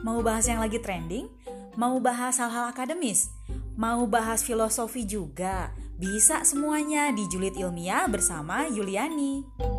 Mau bahas yang lagi trending? Mau bahas hal-hal akademis? Mau bahas filosofi juga? Bisa semuanya di Julid Ilmiah bersama Yuliani.